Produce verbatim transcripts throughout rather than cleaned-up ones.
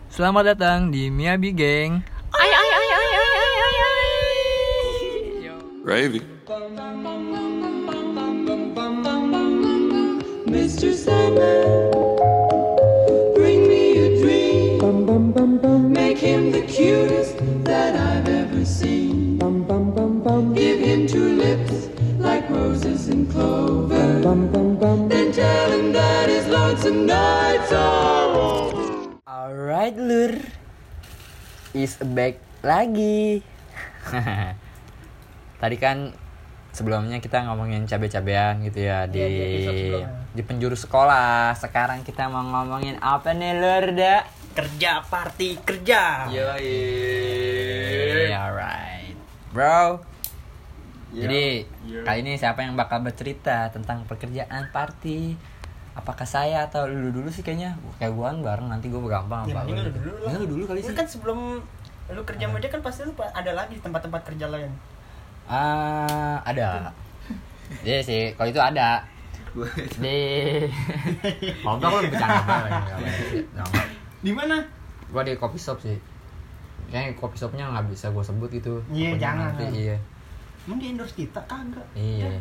Selamat datang di Miyabi Gang. Ay ay ay ay ay ay ay ay. Gravy. mister Sandman, bring me a dream. Make him the cutest that I've ever seen. Give him two lips like roses and clover. Then tell him that his lonesome nights are over. Alright lur, is back lagi. Tadi kan sebelumnya kita ngomongin cabe-cabean gitu ya di Iya, di episode sebelumnya. di penjuru sekolah. Sekarang kita mau ngomongin apa nih lur dah? Kerja party kerja. Yoi, alright, bro. Jadi kali ini siapa yang bakal bercerita tentang pekerjaan party? Apakah saya atau lu dulu sih kayaknya? Kayak gua bareng nanti gua gampang Ya, apa? mending lu dulu lah. Ya, lu dulu kali Lu sih. kan sebelum lu kerja meja kan pasti lu pa- ada lagi tempat-tempat kerja lain. Ah, ada. Iya sih, kalau itu ada. Di kalau enggak gua bercanda banget. Di mana? Gua di coffee shop sih. Kayaknya coffee shopnya nggak bisa gua sebut gitu. Iya, Pokoknya jangan. Nanti, iya. Emang di endorse kita kagak? Iya.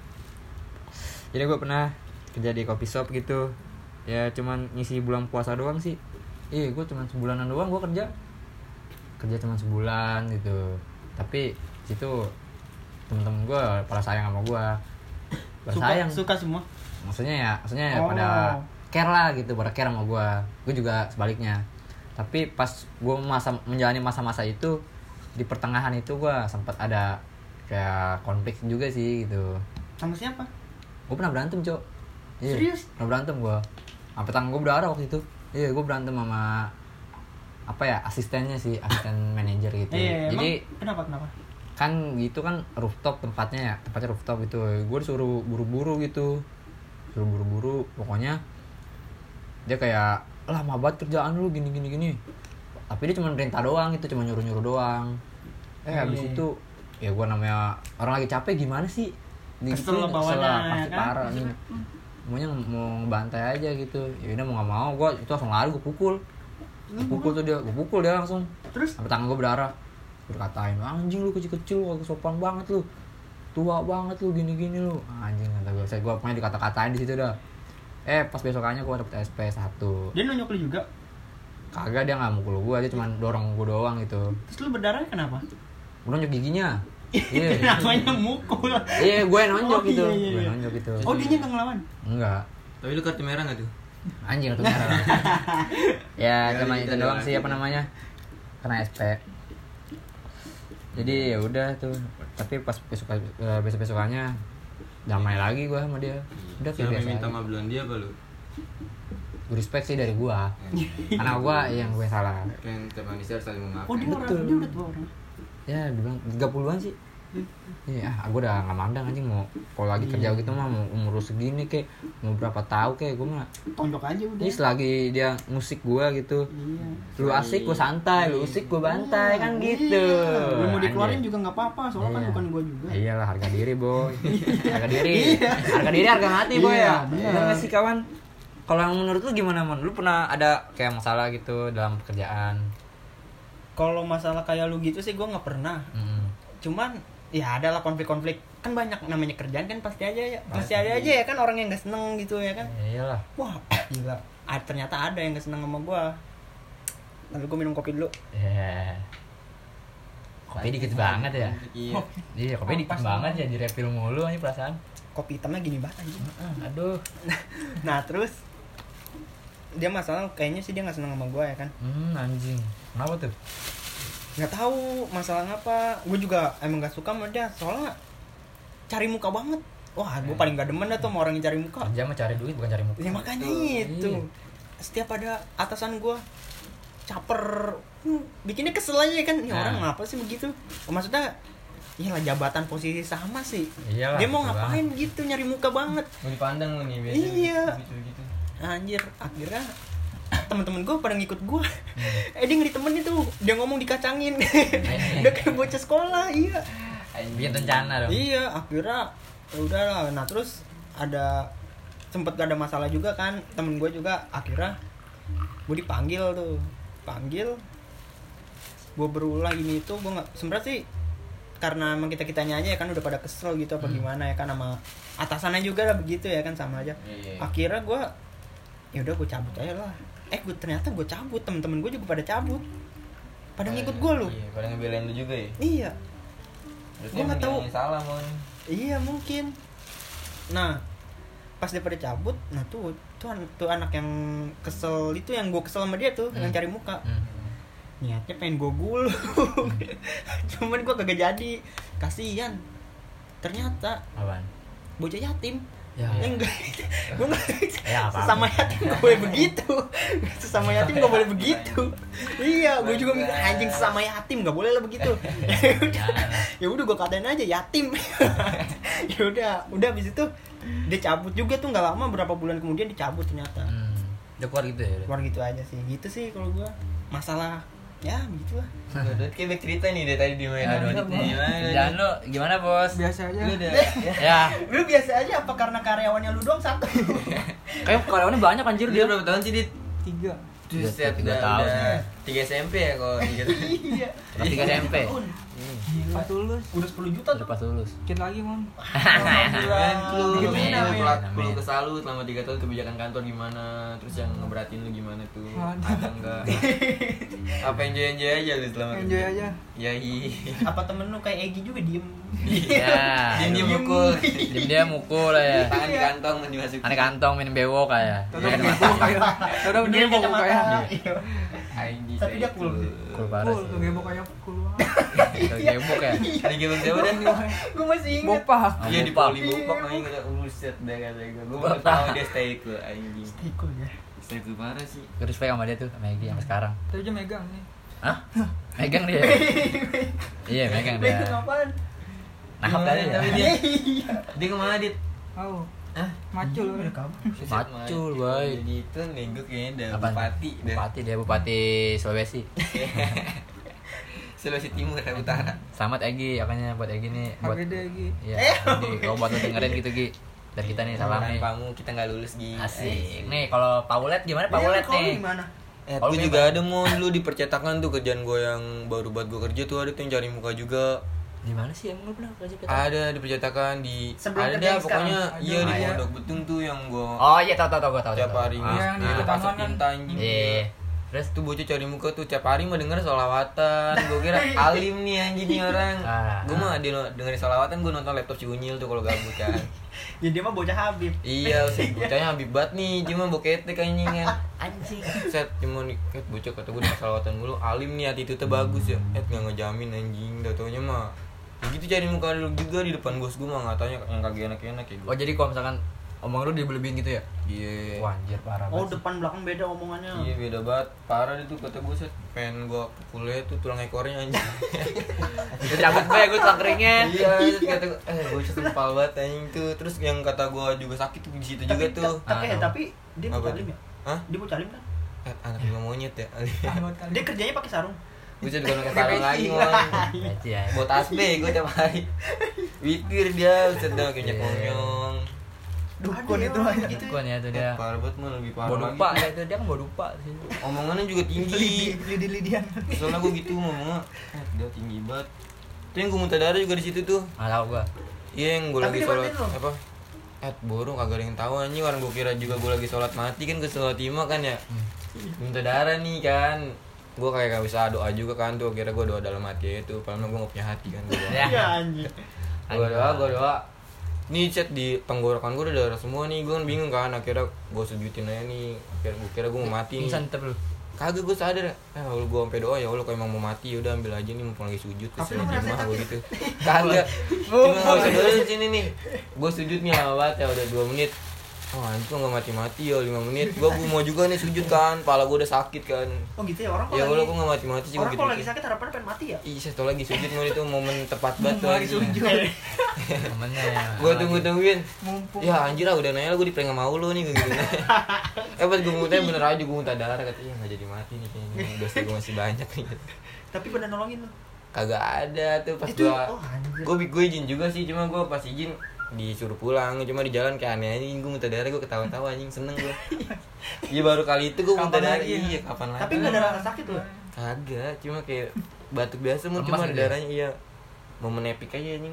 Jadi gue pernah kerja di coffee shop gitu. Ya cuman ngisi bulan puasa doang sih. Iya, gue cuman sebulanan doang gue kerja. Kerja cuman sebulan gitu. Tapi situ temen-temen gue pada sayang sama gue. Pada Suka, sayang. suka semua. Maksudnya ya, maksudnya ya Oh. pada care lah gitu, pada care sama gue. Gue juga sebaliknya. Tapi pas gue masa menjalani masa-masa itu, di pertengahan itu gue sempat ada kayak konflik juga sih gitu. Sama siapa? Gue pernah berantem, Cok. Iya, Serius? pernah berantem gue. Sampai tangan gue berdarah waktu itu. Iya, gue berantem sama apa ya, asistennya sih, asisten manajer gitu. Iya, Jadi emang kenapa kenapa? kan gitu kan rooftop tempatnya ya, tempatnya rooftop gitu. Gue disuruh buru-buru gitu. Suruh buru-buru, pokoknya dia kayak lama banget kerjaan lu gini gini gini. Tapi dia cuma perintah doang gitu, cuma nyuruh-nyuruh doang. Eh habis Iya. itu ya gue namanya orang lagi capek gimana sih? Kesel Digituin, bawahnya, kesel lah, ya pasti kan? parah nih. Maunya mau ngebantai aja gitu. Ya udah mau nggak mau, gue itu langsung lari, gue pukul. Gue pukul tuh dia, gue pukul dia langsung. Terus? Sampai tangan gue berdarah. Gue katain, anjing lu kecil-kecil, lu agak sopan banget lu. Tua banget lu, gini-gini lu. Anjing kata gue. Saya gue pokoknya dikata-katain di situ dah. Eh pas besokannya gue dapet S P satu. Dia nonyok lu juga. Kagak, dia nggak mukul gue, dia cuma dorong gue doang gitu. Terus lu berdarah kenapa? Gue nonjok giginya. Iya. Namanya mukul. Iya, gue nonjok Oh, gitu. iya, iya, Gue iya. nonjok gitu. Oh, dia nggak ngelawan. Enggak. Tapi lu kartu merah gak tuh? Anjing kartu merah. Ya, Ya, cuma gitu itu doang doang. sih apa namanya? Kena S P. Jadi ya udah tuh. Tapi pas besok besok besokannya damai lagi gue sama dia. Udah kayak Siapa biasa. yang minta aja. maaf dia apa lu? Gue respect sih dari gue. Karena gue yang gue salah. Kan tiap manusia harus saling memaafkan. Oh, dia orang Betul. dia udah tua orang. Ya dibilang tiga puluhan sih. Iya, ah, gue udah nggak mandang anjing mau kalau lagi kerja gitu mah mau umur segini kek mau berapa tahun kek gue mah. Tonjok aja udah. Ini selagi dia musik gue gitu. Iya. Lu asik gue santai, lu usik gue bantai kan gitu. Iya. Lu mau dikeluarin Anjing. juga nggak apa-apa, soalnya kan Iya. bukan gua juga. Iyalah harga diri boy. Harga diri. Harga diri harga mati boy Iya, ya. bener. Bener nggak sih kawan? Kalau yang menurut lu gimana mon? Lu pernah ada kayak masalah gitu dalam pekerjaan? Kalau masalah kayak lu gitu sih gua nggak pernah. Mm. Cuman ya ada lah konflik-konflik. Kan banyak namanya kerjaan kan pasti aja ya. Pasti Pasti. ada aja ya kan orang yang nggak seneng gitu ya kan. Ya iyalah. Wah, gila. Ah, ternyata ada yang nggak seneng sama gua. Lalu gua minum kopi dulu. Ya. Kopi dikit banget ya. Iya. Iya, kopi dikit Pas banget ya di refill mulu aja perasaan. Kopi hitamnya gini banget anjing. Aduh. Nah, terus dia masalah kayaknya sih dia nggak seneng sama gua ya kan. Hmm, anjing. Kenapa tuh? Nggak tahu masalah apa. Gue juga emang nggak suka sama dia soalnya cari muka banget. Wah, gue paling gak demen dah tuh sama orang yang cari muka. Kerja mah cari duit bukan cari muka. Ya makanya itu. Iya. Setiap ada atasan gue caper, hmm, bikinnya kesel aja kan. Ini Nah. orang ngapa sih begitu? Maksudnya ya lah jabatan posisi sama sih. Iyalah, Dia mau betul ngapain gitu nyari muka banget. Mau dipandang lu nih biasanya. Iya. Gitu-gitu. Anjir, akhirnya temen-temen gue pada ngikut gue. Eh dia nggak ditemenin tuh, dia ngomong dikacangin. Dia kayak bocah sekolah, iya. Bikin rencana dong. Iya, akhirnya ya udahlah. Nah terus ada sempet gak ada masalah juga kan, temen gue juga akhirnya gue dipanggil tuh panggil, gue berulang ini itu gue nggak sebenarnya sih karena emang kita kitanya aja ya kan udah pada kesel gitu apa Hmm. gimana ya kan sama atasannya juga lah begitu ya kan sama aja. Iya. Akhirnya gue ya udah gue cabut aja lah. Eh gue ternyata gue cabut, temen-temen gue juga pada cabut, pada ngikut gue lu. Iya, pada ngebelain lu juga ya. Iya. Berarti Gua nggak emang tahu. dia yang salah, Mon. Iya mungkin. Nah pas dia pada cabut, nah tuh tuh, an- tuh anak yang kesel itu yang gue kesel sama dia tuh Hmm. yang cari muka. Hmm. Niatnya pengen gue gulung, cuman gue kagak jadi. Kasian. Ternyata Apaan? bocah yatim. Ya. Ya enggak, gue nggak. Ya, apa-apa. Sesama yatim gak boleh begitu. Sesama yatim gak boleh begitu. Iya, gue juga mikir anjing sesama yatim gak boleh lah begitu. Ya udah gue katain aja yatim. Ya udah, udah abis itu dia cabut juga tuh nggak lama, berapa bulan kemudian dicabut ternyata. Hmm. Udah keluar gitu ya? Keluar gitu aja sih, gitu sih kalau gue masalah ya begitulah. Udah kayak back cerita nih dari tadi di mana? Ya, Di mana? Jangan lu gimana bos? Biasa aja. Lu udah Ya. Lu biasa aja apa karena karyawannya lu doang satu? Kayak karyawannya banyak anjir dia dia. berapa tahun sih, Dit? Tiga. Tuh, Tiga- set tiga udah, tahun. udah tiga S M P ya kalau tiga tahun. Iya. Kelas tiga S M P. Gila. Lulus. Udah sepuluh juta Udah tuh. pas lulus. Dikit lagi, Mon. Keren lu, Dikit Amin. lagi, amin. pelat Amin. perlu kesalut selama tiga tahun kebijakan kantor gimana, terus yang ngeberatin lu gimana tuh, ada enggak? Apa enjoy enjoy aja lu selama Enjoy aja. Ya iya. Apa temen lu kayak Egi juga diem? Ya. Dia dia Diem. mukul, Dia dia mukul lah ya. tangan di kantong dimasukin. Aneh kantong minum bewok kayak. Dia kan mata. Udah bener kacamata. Iya. Anjing. Tapi dia cool sih. Cool parah sih. Kegebok kayak cool. Kayak gebok ya. Ada gimana siapa dah? Gue masih inget. Ah, Iya di Bopak. poli bopak aja kata buset dah kata gue. Gue baru tahu dia stay cool anjing. Cool ya. Stay cool parah sih. Gue respect sama dia tuh, sama Egy sampai sekarang. Tapi dia megang nih. Hah? Megang dia. Iya, megang dia. Megang apaan? Nahap Gimana, tadi ya. tapi dia dia kemana, Dit? Oh, Hah? macul udah kabur. Buset, Macul, Mat. boy. Jadi itu nih gue kayaknya udah Apaan? bupati dah. Bupati dia, Bupati Sulawesi. Sulawesi Timur dan Utara. Selamat Egy, apanya buat Egy nih buat H B D Egi. Iya, Egy. Kalau buat lu dengerin gitu Gi. Dari kita nih salam nih. Kamu kita nggak lulus Gi. Asik. Nih kalau Paulet gimana Paulet Iya, kalau nih? gimana? Eh, Kalau gue memang- juga ada mau dulu di percetakan tuh kerjaan gue yang baru buat gue kerja tuh ada tuh yang cari muka juga. Di mana sih emang lu pernah kerja kita? Ada di percetakan di Sebelum ada kerja dah yang pokoknya sekarang. iya di Ah, iya. Pondok Betung tuh yang gue Oh iya tahu tahu tahu gua tahu. tiap tahu. hari Ah, Iya, yang di nah, dekat pasok taman kan. tinta anjing. Iya. Terus Tuh bocah cari muka tuh tiap hari mah denger solawatan. Gue kira alim nih anjing nih orang. Ah. Gue mah dia dengerin solawatan gue nonton laptop si Unyil tuh kalau gabut kan. Ya dia mah bocah Habib. Iya, si bocahnya Habib banget nih, cuma boketek anjing kan. anjing. Set cuma nih, eh, bocah kata gue dengan salawatan mulu, alim nih hati itu tuh bagus ya. Eh nggak ngejamin anjing, dah taunya mah. Ya gitu cari muka dulu juga di depan bos gue mah ngatanya yang kagak enak-enak ya gue. Oh jadi kalau misalkan omong lu dibelebihin gitu ya? Iya. Wah anjir parah Oh, banget. depan belakang beda omongannya. Iya beda banget, parah itu kata gue set. Pengen gue pukulnya tuh tulang ekornya anjing. Itu cabut gue, gue tulang keringnya. Iya, terus kata gue, eh gue sempal banget anjing tuh. Terus yang kata gue juga sakit tuh di situ juga Tapi tuh. ta- tapi eh, Ah. tapi dia Apa bocah tuh? alim ya? Hah? Dia bocah alim kan? Eh, anak lima monyet ya. Dia kerjanya pakai sarung. Gue jadi bukan kesalahan lagi mon. Aji ya. Buat tasbih gue tiap hari. Witir dia, uset dah kayak Iya. nyekonyong. Dukun itu aja gitu. Dukun ya tuh dia. Parah banget mah lebih parah lagi. Bodupa ya itu dia kan bodupa sih. Omongannya juga tinggi. Lidi-lidian. Soalnya gue gitu ngomongnya, eh, dia tinggi banget. Tuh yang gue muntah darah juga di situ tuh. Nggak tahu gua. Iya yang gue Tapi lagi dia sholat bantuin lo. apa? Eh bodoh kagak ada yang tahu anjing, orang gue kira juga gue lagi sholat mati kan ke sholat lima kan ya. Muntah darah nih kan. Gue kayak gak bisa doa juga kan tuh, kira gue doa dalam hati itu, padahal gue gak punya hati kan gue. Ya. Iya anjing. Gue doa, gue doa. Nih chat di tenggorokan gue udah darah semua nih, gue kan bingung kan, akhirnya gue sujudin aja nih, akhirnya gue kira gue mau mati nih. Pingsan tetep lu. Kagak gue sadar, eh kalau gue sampai doa ya Allah kalau emang mau mati udah ambil aja nih mumpung lagi sujud terus Tapi lu terima ngerasain gue sakit? gitu. Kagak, cuma nggak usah dulu di sini nih. Gue sujud nih lama banget ya udah dua menit. Oh anjir kok nggak mati-mati ya lima menit. Gue gue mau juga nih sujud kan, pala gue udah sakit kan. Oh gitu ya orang Ya kalau Allah lagi gue nggak mati-mati sih gue orang gitu. kalau lagi sakit harapannya pengen mati ya. Iya, satu lagi sujud mau itu momen tepat banget tuh. Lagi sujud. Temennya ya. Gue tunggu-tungguin. Mumpung. Ya anjir lah udah nanya lah gue diprank sama lu nih gue gitu. Eh pas gue muntah bener aja gue muntah darah katanya nggak jadi mati nih kayaknya. Dosa gue masih banyak nih. Tapi bener nolongin lu. Kagak ada tuh pas Itu gua oh anjir. gue gue izin juga sih cuma gue pas izin disuruh pulang, cuma di jalan kayak aneh anjing, gue muntah darah, gue ketawa-tawa anjing, seneng gue. Iya baru kali itu gue muntah darah, iya kapan lagi? Tapi nggak ada rasa sakit loh. Kagak, cuma kayak batuk biasa mun, Lemas cuma gitu ya? darahnya iya. Momen epic aja anjing.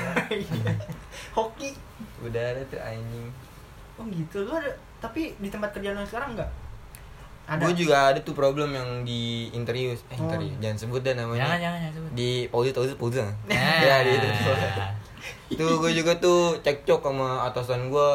Hoki. Udara tuh anjing. Oh gitu. Lu ada tapi di tempat kerjaan lu sekarang enggak? Ada. Gue juga ada tuh problem yang di Interius, eh Oh. Interius, jangan sebut dah namanya. Jangan jangan jangan sebut. Di Paulus Paulus Paulus. Nah. Ya di itu. Tuh gue juga tuh cekcok sama atasan gue.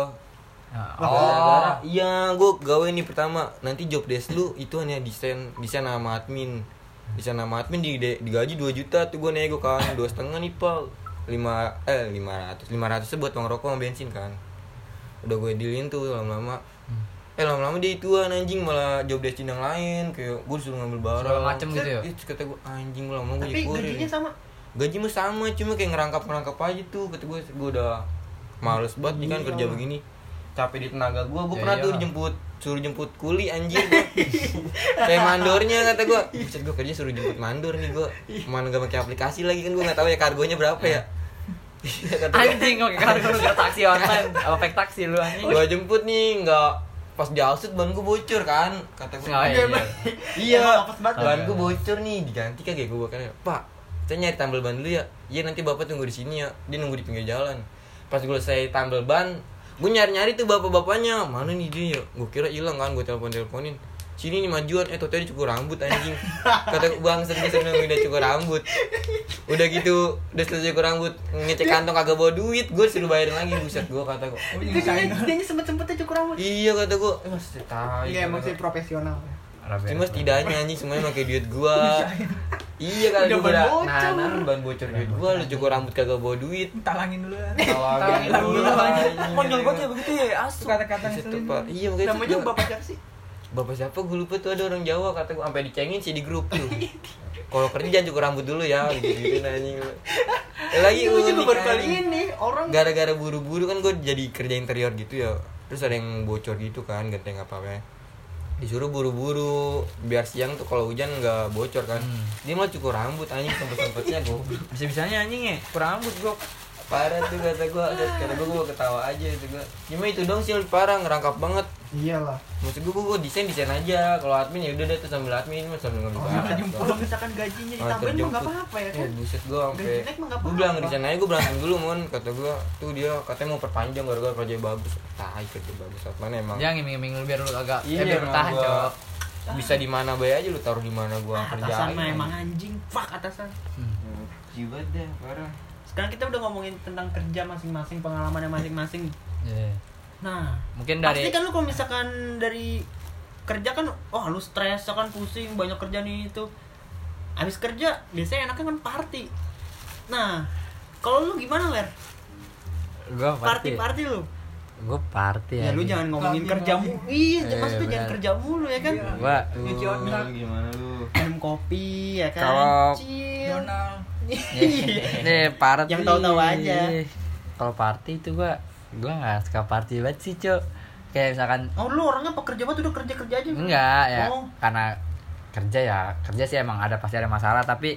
Oh. Gara-gara, iya gue gawe nih pertama, nanti job desk lu itu hanya desain desain sama admin. Desain sama admin di digaji dua juta tuh gue nego kan, dua setengah nih pal, lima eh lima ratus lima ratus buat uang rokok sama bensin kan. Udah gue dealin tuh lama-lama. Eh lama-lama dia ituan anjing, malah job desk yang lain, kayak gue disuruh ngambil barang Segala macem gitu ya? Ih, kata gue anjing gue lama gue Tapi gajinya sama. gaji mah sama, cuma kayak ngerangkap-ngerangkap aja tuh. Kata gue, gue udah males banget nih kan Iya. kerja begini, capek di tenaga gue. Gue Ya, pernah iya. tuh dijemput, suruh jemput kuli anjir gue. Kayak mandornya kata gue, buset gue kerja suruh jemput mandor nih gue. Mana gak pakai aplikasi lagi kan, gue nggak tahu ya kargonya berapa ya. Kata gue, Anjing kok karena gue udah taksi online, apa fake taksi lu anjing. gue jemput nih nggak pas di outset ban gue bocor kan, kata gue. Oh, iya. Iya, Emang apes banget. ban gue bocor nih, diganti kagak gue kan. Pak, saya nyari tambal ban dulu ya. Iya nanti bapak tunggu di sini ya. Dia nunggu di pinggir jalan. Pas gue selesai tambal ban, gue nyari-nyari tuh bapak-bapaknya. Mana nih dia ya? Gue kira hilang kan, gue telepon-teleponin. Sini nih majuan, eh tadi cukur rambut anjing. Kata bang, dia sudah udah cukur rambut. Udah gitu, udah selesai cukur rambut, ngecek kantong kagak bawa duit, gue suruh bayarin lagi. Buset gue kata gue. Itu dia dia sempet-sempetnya cukur rambut. Iya kata gue, eh mas tai. Iya emang sih profesional. Cuma setidaknya anjing semuanya pakai duit gua. Iya kalau Udah gua ban udah bocor. nahan ban bocor duit gua, lu cukur rambut kagak bawa duit. Talangin dulu. Talangin dulu. Konyol banget ya begitu ya, asu. Kata-kata Buset tuh, ngeselin. Pak. Iya makanya Namanya gua- bapak siapa sih? Bapak siapa gue lupa tuh, ada orang Jawa kata gue, sampai dicengin sih di grup tuh. Kalau kerja jangan cukur rambut dulu ya, gitu-gitu anjing. Eh, lagi Gue juga unik, baru kali anjing. ini orang Gara-gara buru-buru kan gue jadi kerja interior gitu ya. Terus ada yang bocor gitu kan, genteng apa-apa. Disuruh buru-buru biar siang tuh kalau hujan nggak bocor kan. Hmm. Dia malah cukur rambut anjing, sempet-sempetnya gue. Bisa-bisanya anjing ya, kurang rambut gua. Parah tuh kata gue, kata gue gue ketawa aja itu gue. Cuma itu dong sih lebih parah, ngerangkap banget. iyalah. Maksud gue, gue desain desain aja. Kalau admin ya udah deh tuh sambil admin, sambil ngambil barang. Kalau misalkan gajinya Ah, ditambahin mah terjemput. nggak apa-apa ya Ya kan? buset gue sampai. Gaji naik mah nggak Gue apa-apa. bilang desain aja gue berantem dulu mon, kata gue. Tuh dia katanya mau perpanjang gara-gara kerja bagus. Tai kerja bagus, mana emang. Jangan ngiming-ngiming lu biar lu agak Iya, eh, biar emang bertahan, gua- Cok. Bisa di mana bae aja lu taruh di mana gua Ah, kerjain. atasan mah emang anjing. Fuck atasan. Jibat deh, parah. Sekarang kita udah ngomongin tentang kerja masing-masing, pengalamannya masing-masing. Iya. Nah, Mungkin pasti dari kan lu kalau misalkan dari kerja kan, oh lu stres kan, pusing, banyak kerja nih itu. Habis kerja biasanya enaknya kan party. Nah, kalau lu gimana, Ler? gua party. Party-party lu. Gua party Ya, lu anjing. jangan ngomongin Lagi, kerjamu. lagi. Iya, Eh, maksudnya jangan benar. kerja mulu ya kan. Gua Nyuci uh, otak. Gimana lu? Minum kopi ya kan. Kalau- Chill. Donald. Iya. nih party. Yang tahu-tahu aja. Kalau party itu gua gua nggak suka party banget sih, Cok. Kayak misalkan Oh, lu orangnya pekerja banget udah kerja-kerja aja. enggak ya, Oh. karena kerja ya kerja sih emang ada pasti ada masalah, tapi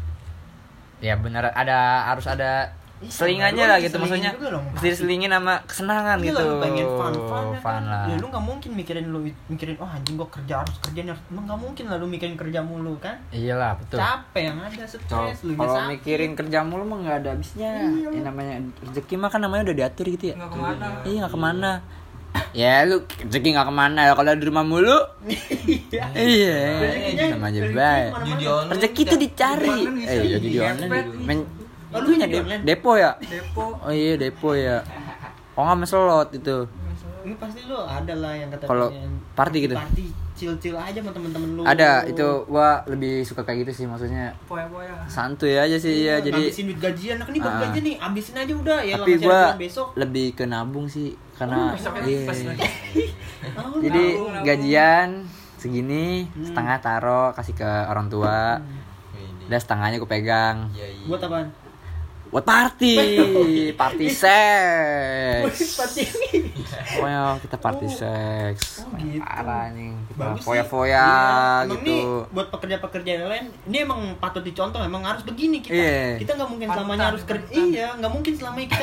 ya bener ada harus ada Ih, selingannya lu lah lagi gitu, selingin maksudnya juga dong. mesti diselingin sama kesenangan Iya gitu. lah, lu pengen fun fun, ya Fun kan? lah. Ya lu nggak mungkin mikirin lu mikirin oh anjing gua kerja harus kerja nih. Lu nggak mungkin lah lu mikirin kerja mulu kan. Iyalah betul. Capek yang ada stres lu Kalau sakit. mikirin kerja mulu mah nggak ada habisnya. Iya. Yang namanya rezeki mah kan namanya udah diatur gitu ya. Nggak kemana. Iya nggak kemana. Ya lu rezeki nggak kemana ya kalau di rumah mulu. Iya. Rezekinya- Sama aja rezekinya baik. kemana-mana. Judi online. Rezeki tuh dicari. Di online Eh, bisa jadi di di online. Gepet. Men- Oh, lu itunya jadi de- online? depo ya. Depo. Oh iya depo ya. Oh nggak meselot itu. Ini pasti lu ada lah yang kata Kalau party gitu? Party chill-chill aja sama temen-temen lu. Ada itu gua lebih suka kayak gitu sih, maksudnya Poya-poya. santuy aja sih ya. Jadi ngabisin duit gajian, nah, ini baru Ah. gajian nih, abisin aja udah ya. tapi lah, masih ada gua bulan besok. lebih ke nabung sih karena Oh, besoknya iya. pas lagi. Oh, Jadi Nabung, nabung. gajian segini Hmm. setengah taro kasih ke orang tua, dan setengahnya gue pegang Iya, iya. buat apaan? buat party, party seks. Party. Pokoknya kita party Oh. seks. Oh, gitu. Parah nih, kita Bagus sih. foya-foya Iya. Emang gitu. nih buat pekerja-pekerja yang lain, ini emang patut dicontoh. Emang harus begini kita. Iya. Kita nggak mungkin Panutan, selamanya harus kerja. panutan. Iya, nggak mungkin selamanya kita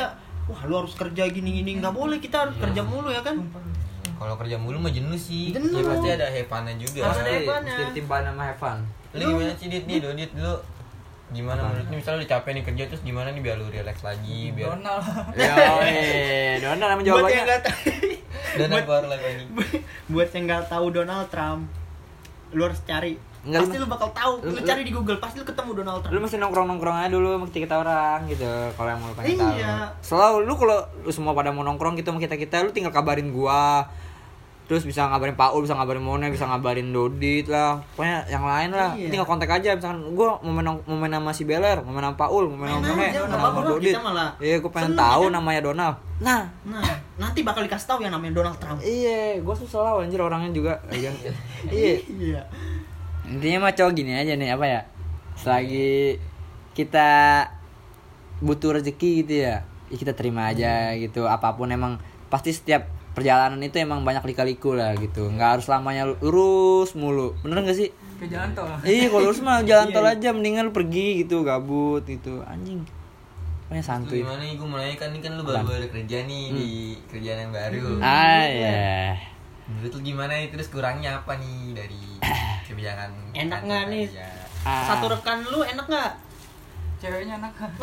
wah lu harus kerja gini-gini, nggak boleh, kita harus kerja mulu ya kan. Kalau kerja mulu mah jenuh sih. Jenuh. Ya pasti ada have fun-nya juga. Harus ada Pasti, have fun-nya. mesti ditimpain sama have fun. Lu gimana sih Dit nih, Dodit dulu? Gimana menurut lu misalnya lu capek nih kerja terus gimana nih biar lu relax lagi, biar Donald. Yo, eh, Donald nama Buat yang jawabannya. nggak tahu, dan keluar lagi ini. buat yang nggak tahu Donald Trump, lu harus cari. Enggak, Pasti lu- lu bakal tahu. Lu, lu- cari di Google, pasti lu ketemu Donald Trump. Lu mesti nongkrong-nongkrong aja dulu sama kita orang gitu. Kalau yang mau lu pengen tahu. Iya. Selalu lu kalau lu semua pada mau nongkrong gitu sama kita-kita, lu tinggal kabarin gua. Terus bisa ngabarin Paul, bisa ngabarin Mone, bisa ngabarin Dodit lah. Pokoknya yang lain lah. Iya. Tinggal kontak aja misalkan gua mau main mau main sama si Beler, mau main sama Paul, mau main Main sama Mone, aja, mau nggak main sama apa-apa, Dodit. kita malah Iya, gua pengen seneng, tahu ya kan? namanya Donald. Nah, Nah, nanti bakal dikasih tahu yang namanya Donald Trump. iya, gua tuh selalu anjir orangnya juga. Iya. Iya. Iya. Intinya mah cowok gini aja nih, apa ya, selagi kita butuh rezeki gitu ya, ya kita terima aja gitu. Apapun emang pasti setiap perjalanan itu emang banyak lika-liku lah gitu, nggak harus lamanya lurus mulu, bener nggak sih? Ke jalan tol. Iya, kalau lurus mah jalan Iya, tol iya. aja, mendingan lu pergi gitu, gabut gitu, anjing. Pokoknya Lu santuy. gimana nih, gue mau nanya kan, ini kan lu Apaan? baru-baru kerja nih di kerjaan yang baru. Ah ya. Menurut lu gimana nih, terus kurangnya apa nih dari kebijakan Enak kantor nggak nih? kerja? Ah. Satu rekan lu enak nggak? Ceweknya enak kan?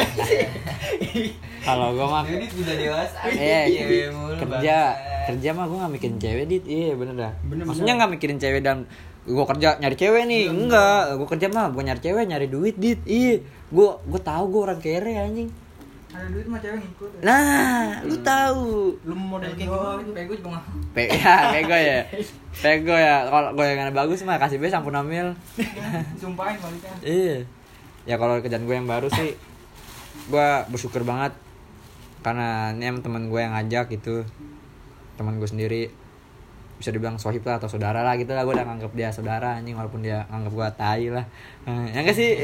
Kalau gua mah Dodit udah dewasa. eh cewek mulu, kerja bangsa. kerja mah gue nggak mikirin cewek dit, iya bener dah. Bener, Maksudnya bener. nggak mikirin cewek dan gue kerja nyari cewek nih, enggak, gue kerja mah bukan nyari cewek, nyari duit dit, iya, gue gue tahu gue orang kere anjing. Ada duit mah cewek ngikut. Nah, lu tahu, Lu model kayak Pego, gimana? pego juga nggak. Pe ya, pego ya, pego ya. Kalau gue yang bagus mah kasih be sampun amil. Sumpahin baliknya. Iya, ya kalau kerjaan gue yang baru sih, gue bersyukur banget karena ini emang teman gue yang ngajak gitu, teman gue sendiri, bisa dibilang sohib lah atau saudara lah gitu lah. Gue udah nganggap dia saudara anjing, walaupun dia nganggap gue tai lah. Eh, ya enggak sih?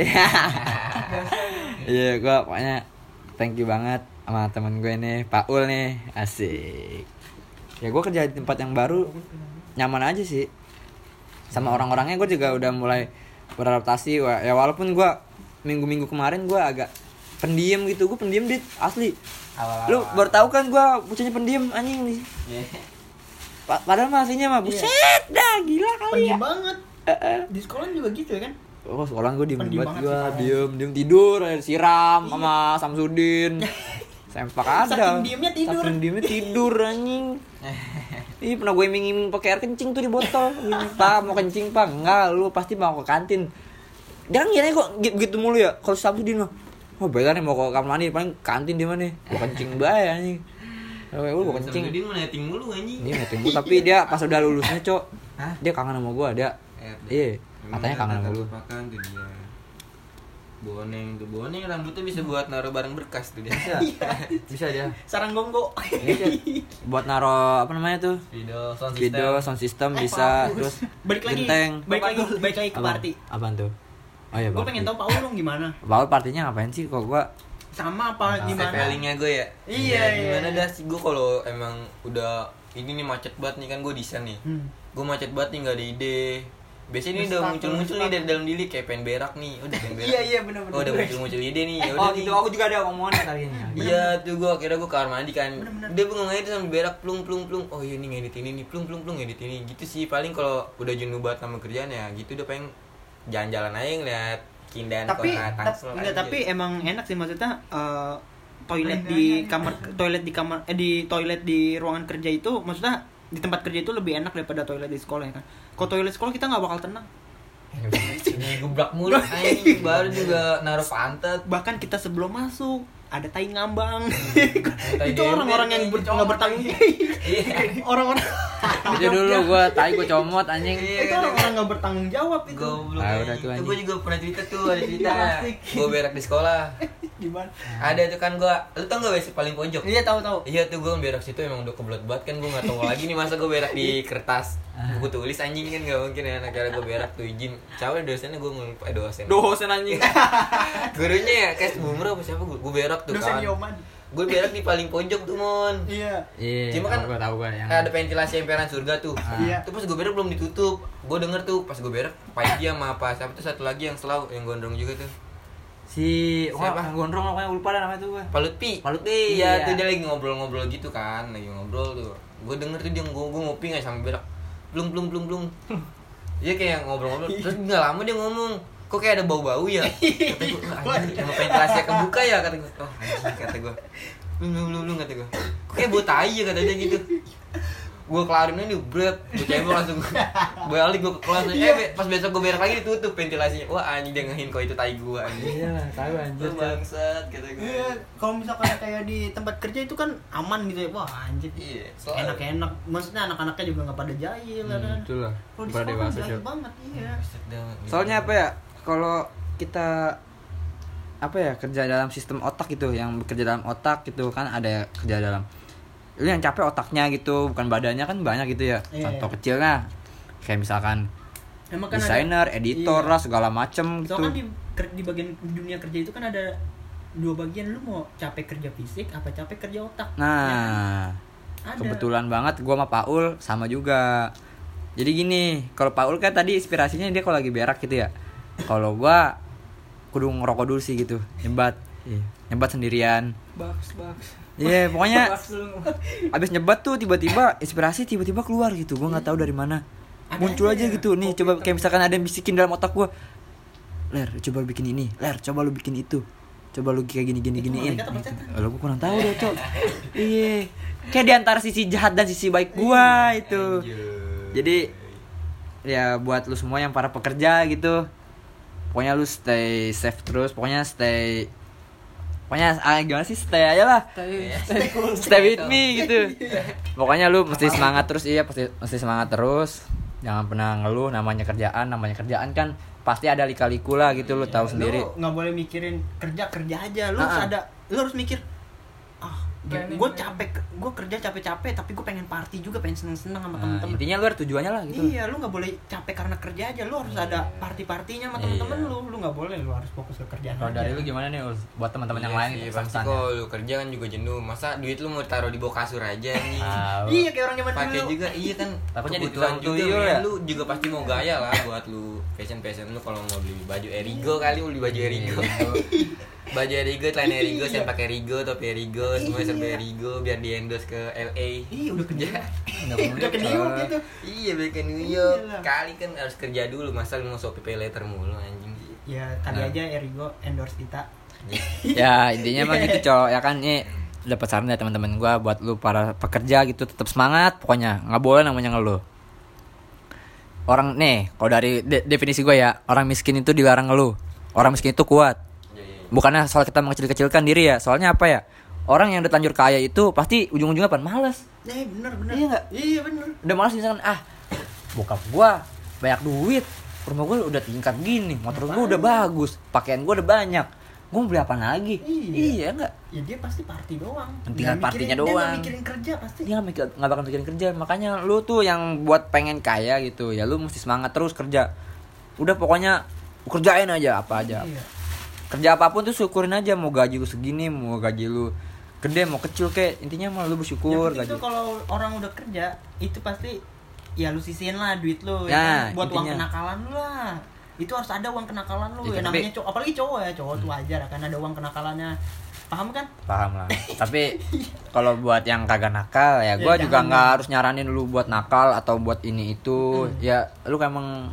Iya, gue pokoknya thank you banget sama teman gue nih, Paul nih, asik. Ya gue kerja di tempat yang baru nyaman aja sih, sama orang-orangnya gue juga udah mulai beradaptasi. Wah, ya walaupun gue minggu-minggu kemarin gue agak pendiam gitu, gue pendiam dit asli. Awal-awal. Lu baru tahu kan gue bocahnya pendiam anjing nih. Iya. Pa- padahal mah aslinya mah buset dah gila kali ya. Pendiam banget. Eh, eh. Di sekolah juga gitu ya kan? Oh, sekolah gue diem Pendiam banget banget gue, sih, parah. diem, diem tidur, air siram sama Samsudin. Sempak ada. Saking diemnya tidur. Saking diemnya tidur anjing. Ih, pernah gue iming-iming pakai air kencing tuh di botol. Gini, Pak, mau kencing, Pak? Enggak, lu pasti mau ke kantin. Jangan kira kok gitu, gitu mulu ya. Kalau Samsudin mah, oh beda nih mau ke kamar mandi, paling kantin di mana? Gue kencing bae anjing. Oh, lu gue kencing. Dia mau netting mulu anjing. Dia ngeting mulu, tapi dia pas udah lulusnya, Cok. Hah? Dia kangen sama gua, dia. Eh, Iya, memang katanya kangen sama tak lu. terlupakan tuh dia. Boneng tuh, boneng rambutnya bisa buat naruh barang berkas tuh dia. Bisa. Bisa dia. Sarang gonggo. Bisa. Buat naro apa namanya tuh? Video sound system. Video sound system Eh, bisa, Paul. terus Balik lagi. genteng. Balik lagi, balik lagi ke Apaan? party. Apaan tuh? Oh iya, Gue pengen tahu Paul dong gimana? Paul partinya ngapain sih kok gua? Sama apa gimana? Stylingnya gue ya. Iya, Ya, iya. Gimana dah sih gue kalau emang udah ini nih macet banget nih kan gue desain nih. Hmm. Gue macet banget nih nggak ada ide. Biasanya ini udah Start, muncul-muncul nih start. dari dalam diri kayak pengen berak nih. Udah pengen berak. Iya, iya, bener-bener. Oh, udah muncul-muncul ide nih. Ya Oh udah gitu, nih. aku juga ada omongannya tadi ini. Iya tuh gue akhirnya gue ke kamar mandi kan. Bener-bener. Dia bengong aja tuh sambil berak plung plung plung. Oh iya nih ngedit ini nih plung plung plung ngedit ini gitu sih. Paling kalau udah jenuh banget sama kerjaan ya gitu udah pengen jalan-jalan aja ngeliat keindahan Tapi kota tap- Tangsel enggak, aja. tapi emang enak sih maksudnya eh, toilet di kamar toilet di kamar eh di toilet di ruangan kerja itu maksudnya di tempat kerja itu lebih enak daripada toilet di sekolah ya kan. Kalau toilet sekolah kita nggak bakal tenang. Ini gebrak mulu anjing baru juga naruh pantat. Bahkan kita sebelum masuk ada tai ngambang. Tai Itu orang-orang yang ber- nggak bertanggung Iya. orang-orang Itu dulu gua tai gua comot anjing. itu orang-orang nggak bertanggung jawab itu. Goblok. Ah, anjing. udah tuh, Itu anjing. gue juga pernah cerita tuh, ada cerita. Iya, asik. Gue berak di sekolah. Gimana? Ada tuh kan gue, lu tau gak W C paling pojok? Iya tahu tahu. Iya tuh gue berak situ emang udah kebelet banget kan gue nggak tahu lagi nih masa gue berak di kertas buku tulis anjing kan gak mungkin ya. Nah kira gue berak tuh izin. Cawel dosennya gue ngelupa eh, dosen. Dosen anjing. Gurunya ya kayak boomer apa siapa gue berak tuh Dosen kan. Yoman. Gue berak di paling pojok tuh mon. Iya. Iya. Cuma kan gua tahu gua yang ada ventilasi emperan surga tuh. Iya. Tuh pas gue berak belum ditutup. Gue denger tuh pas gue berak Paiji sama apa siapa tuh satu lagi yang selalu yang gondrong juga tuh. Si wah, Siapa? yang gondrong pokoknya lupa dah namanya tuh gue. Pak Lutfi. Pak Lutfi, Iya, iya. tuh dia lagi ngobrol-ngobrol gitu kan, lagi ngobrol tuh. Gue denger tuh dia gue gue ngopi nggak sampai berak. Belum belum belum belum. Dia kayak ngobrol-ngobrol. Terus nggak lama dia ngomong, kok kayak ada bau-bau ya? Kata gue, anjing, emang ventilasi kebuka ya kata gue. Oh anjing kata gue. Belum belum belum belum kata gue. Kok kayak bau tai ya kata dia gitu. Gue kelarin ini berat, gue cebok langsung balik gue ke kelas. Eh be- pas besok gue berak lagi ditutup ventilasinya. Wah anjing dia ngehin kok itu tai gue anjing. Iya lah, tahu anjir. Lu bangsat kata gue. Iya, kalau misalkan kayak di tempat kerja itu kan aman gitu ya. Wah, anjir. Iya, soalnya- Enak-enak. Maksudnya anak-anaknya juga enggak pada jahil ya kan. Betul lah. Kalau di Pada sekolah dewasa, jahil Cok. banget, iya. Soalnya apa ya? Kalau kita apa ya kerja dalam sistem otak gitu, yang bekerja dalam otak gitu kan ada kerja dalam. Lu yang capek otaknya gitu, bukan badannya kan banyak gitu ya. Iya, Contoh iya. kecilnya kayak misalkan Emang kan desainer, ada, editor iya. lah segala macem gitu. Soalnya kan di, ker- di bagian di dunia kerja itu kan ada dua bagian, lu mau capek kerja fisik apa capek kerja otak. Ya kan? Nah, Ada. kebetulan banget gua sama Paul sama juga. Jadi gini, kalau Paul kan tadi inspirasinya dia kalau lagi berak gitu ya. Kalau gua kudu ngerokok dulu sih gitu, nyebat. Iya, nyebat sendirian. Baks, baks. Iya, pokoknya Baks dulu. abis nyebat tuh tiba-tiba inspirasi tiba-tiba keluar gitu. Gua nggak tahu dari mana. Ada Muncul aja aja ya, gitu. Nih, kopi coba hitam. kayak misalkan ada yang bisikin dalam otak gua. Ler, coba lu bikin ini. Ler, coba lu bikin itu. Coba lu kayak gini gini Itu giniin. malaikat apa setan? Lo gua kurang tahu deh, Cok. Iya. Kayak di antara sisi jahat dan sisi baik gua itu. Jadi ya buat lu semua yang para pekerja gitu. Pokoknya lu stay safe terus, pokoknya stay pokoknya ah, gimana sih stay aja lah. Stay, stay cool. Stay with me gitu. Pokoknya lu mesti semangat terus, iya pasti mesti semangat terus. Jangan pernah ngeluh, namanya kerjaan, namanya kerjaan kan pasti ada lika-liku lah gitu, lu tahu sendiri. Lu nggak boleh mikirin kerja kerja aja. Lu harus Ah. ada, lu harus mikir. Ah, Planning, gue planning. capek, gue kerja capek-capek, tapi gue pengen party juga, pengen seneng-seneng sama Nah, temen-temen. intinya lu ada tujuannya lah gitu. Iya, lu nggak boleh capek karena kerja aja. Lu harus ada party-partinya sama temen-temen Iya. lu. Lu nggak boleh, lu harus fokus ke kerjaan Kalau aja. dari lu gimana nih Ul? Buat teman-teman yang Iya lain sih, gitu, pasti pesannya. kalau lu kerja kan juga jenuh. Masa duit lu mau taruh di bawah kasur aja nih? Tahu. Iya, kayak orang zaman Pakai dulu. juga, iya kan. Takutnya Kebutuhan ditukang juga, tuyul men. ya? Lu juga pasti mau gaya lah buat lu fashion fashion lu kalau mau beli baju Erigo kali lu beli baju Erigo. Baju Erigo, celana Erigo, saya pakai Erigo, topi Erigo, semuanya serba Erigo biar di endorse ke L A. Iya, udah kerja. Udah Udah ke New York gitu. Iya, balik ke New York. Iyalah. Kali kan harus kerja dulu, masa lu mau Shopee Pay Later mulu anjing. Ya, kali Nah. aja Erigo endorse kita. Ya intinya mah gitu cowok ya kan, nih dapat saran dari teman-teman gua buat lu para pekerja gitu, tetap semangat pokoknya, nggak boleh namanya ngeluh. Orang nih kalau dari de- definisi gua ya, orang miskin itu dilarang ngeluh, orang miskin itu kuat. Bukannya soal kita mengecil-kecilkan diri ya, soalnya apa ya, orang yang udah terlanjur kaya itu pasti ujung-ujungnya apa? Malas. Eh, bener bener. Iya nggak? Iya bener. Udah malas misalkan, ah bokap gua banyak duit, rumah gua udah tingkat gini, motor gua udah bagus, pakaian gua udah banyak, gua mau beli apa lagi? Iya. Iya nggak? Ya dia pasti party doang. Tinggal Nggak partinya mikirin- Dia doang. nggak mikirin kerja pasti. Dia nggak mikir- nggak bakal mikirin kerja. Makanya lu tuh yang buat pengen kaya gitu ya, lu mesti semangat terus kerja. Udah pokoknya kerjain aja apa aja. Iya. Kerja apapun tuh syukurin aja, mau gaji lu segini, mau gaji lu gede, mau kecil kek, intinya mah lu bersyukur Yang penting gaji. tuh kalau orang udah kerja itu pasti ya lu sisihin lah duit lu ya Nah, kan? Buat uang intinya. kenakalan lu lah. Itu harus ada uang kenakalan lu. Ya, Ya, tapi- namanya cowok, apalagi cowok ya, cowok tuh wajar kan ada uang kenakalannya. Paham kan? Paham lah. Tapi kalau buat yang kagak nakal ya, Ya, gua juga jangan, nggak jangan. harus nyaranin lu buat nakal atau buat ini itu. Ya lu kan emang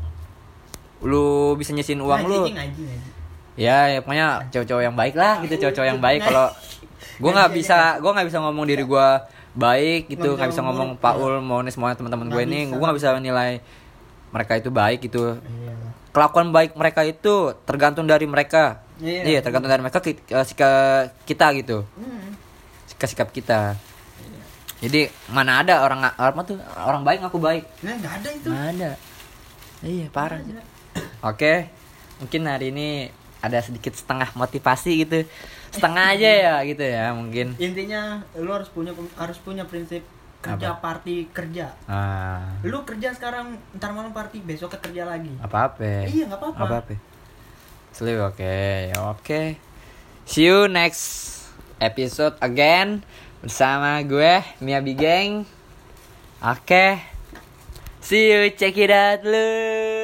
lu bisa nyisin uang lu. Ngaji, ngaji, ngaji. Ya, ya pokoknya cowok-cowok yang baik lah gitu, cowok-cowok yang baik. Kalau gue nggak bisa, gue nggak bisa ngomong diri gue baik gitu, nggak bisa ngomong Paul, Mones, semuanya teman-teman gue Nggak ini, bisa. gue nggak bisa nilai mereka itu baik gitu. Iya. Kelakuan baik mereka itu tergantung dari mereka. Iya. Iya, tergantung dari mereka ki- eh, sikap kita gitu, Hmm. sikap sikap kita. Jadi mana ada orang orang tuh orang baik ngaku baik, Nah, enggak ada itu. nggak ada. Iya parah. Nggak ada. Oke, mungkin hari ini ada sedikit setengah motivasi gitu, setengah aja ya gitu ya mungkin. Intinya lu harus punya harus punya prinsip kerja Apa? party kerja. Ah, Lu kerja sekarang, ntar malam party, besok kerja lagi. apa apa? Iya, nggak apa-apa. Apa apa? Sleep oke, oke. See you next episode again bersama gue Miyabi Gang. Oke, see you, check it out lu.